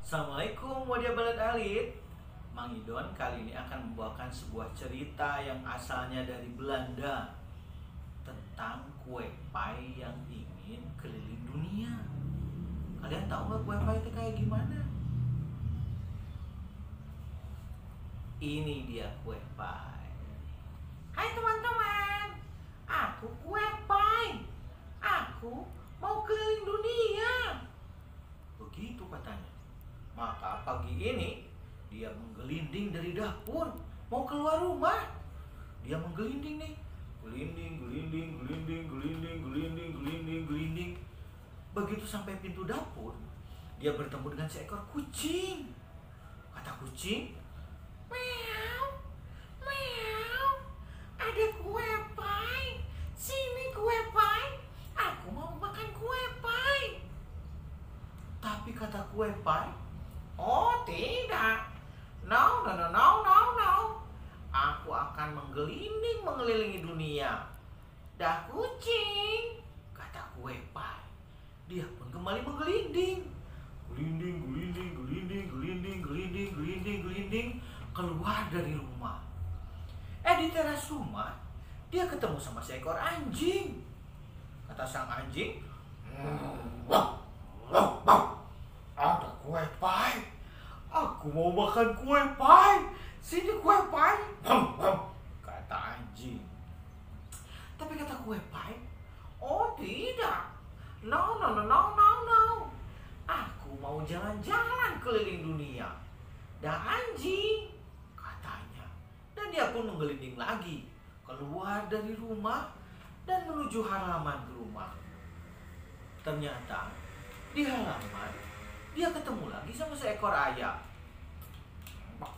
Assalamualaikum wadia balad alit. Mang Idon kali ini akan membawakan sebuah cerita yang asalnya dari Belanda tentang kue pie yang ingin keliling dunia. Kalian tahu nggak kue pie itu kayak gimana? Ini dia kue pie. Hai teman-teman, aku kue pie. Aku mau keliling dunia. Begitu katanya. Maka pagi ini dia menggelinding dari dapur mau keluar rumah. Dia menggelinding nih, gelinding. Begitu sampai pintu dapur, dia bertemu dengan seekor kucing. Kata kucing, Meow, meow. Ada kue pie. Sini kue pie. Aku mau makan kue pie. tapi kata kue pie, Oh tidak. No. Aku akan menggelinding mengelilingi dunia. Dah kucing. kata kue pie. Dia pun kembali menggelinding. Gelinding, keluar dari rumah. Di teras rumah, dia ketemu sama seekor anjing. Kata sang anjing, ada kue pie. Aku mau makan kue pie. Sini kue pie. Kata anjing. Tapi kata kue pie, Oh tidak. No. Aku mau jalan-jalan keliling dunia. Dah anjing. katanya. Dan dia pun menggelinding lagi, keluar dari rumah dan menuju halaman rumah. Ternyata di halaman dia ketemu lagi sama seekor ayam. Bak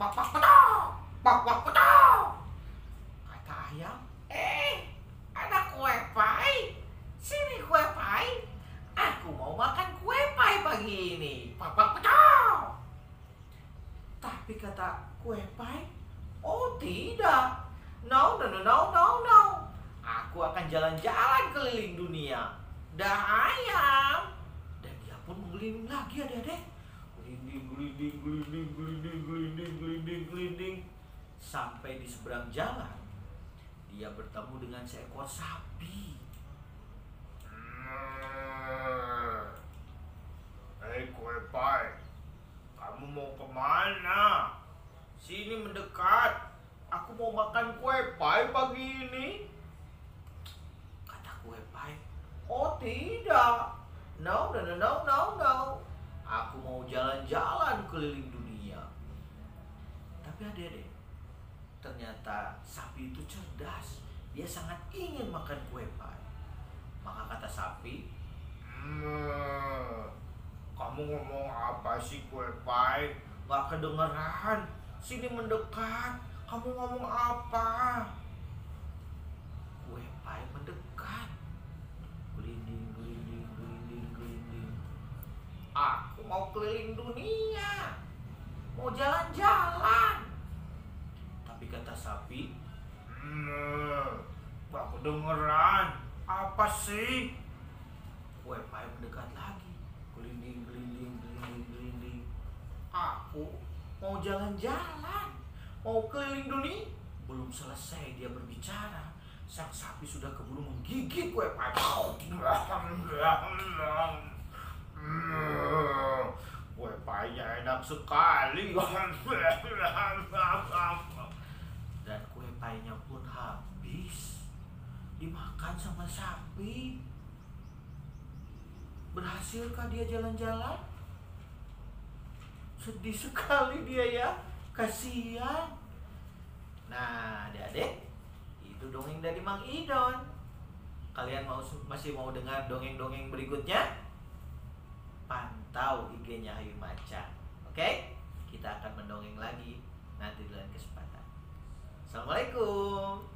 petok. Kata ayam, Ada kue pie. Sini kue pie. Aku mau makan kue pie pagi ini. Bak petok. tapi kata kue pie, Oh tidak. No. Aku akan jalan-jalan keliling dunia. Dah ayam. dan dia pun menggelinding lagi adik-adik. Gelinding. Sampai di seberang jalan, dia bertemu dengan seekor sapi. Hei kue pie, kamu mau kemana? Sini mendekat. Aku mau makan kue pie pagi ini. Kata kue pie, Oh tidak. No. Aku mau jalan-jalan keliling dunia. tapi adik-adik, ternyata sapi itu cerdas. Dia sangat ingin makan kue pie. Maka kata sapi, Kamu ngomong apa sih kue pie? Gak kedengeran. Sini mendekat. Kamu ngomong apa? kue pie mendekat. Gelinding. Aku mau keliling dunia. Mau jalan-jalan. Tapi kata sapi, Gak kedengeran. Apa sih? kue pie mendekat lagi. Gelinding. Aku mau jalan-jalan. Mau keliling dunia. Belum selesai dia berbicara, sang sapi sudah keburu menggigit kue pie. Kue pie enak sekali. Dan kue pie-nya pun habis dimakan sama sapi. Berhasilkah dia jalan-jalan? Sedih sekali dia ya, kasihan. Nah, adik-adik, itu dongeng dari Mang Idon. Kalian masih mau dengar dongeng-dongeng berikutnya? Pantau IG-nya Ayu Maca. Oke? Kita akan mendongeng lagi nanti di lain kesempatan. Assalamualaikum.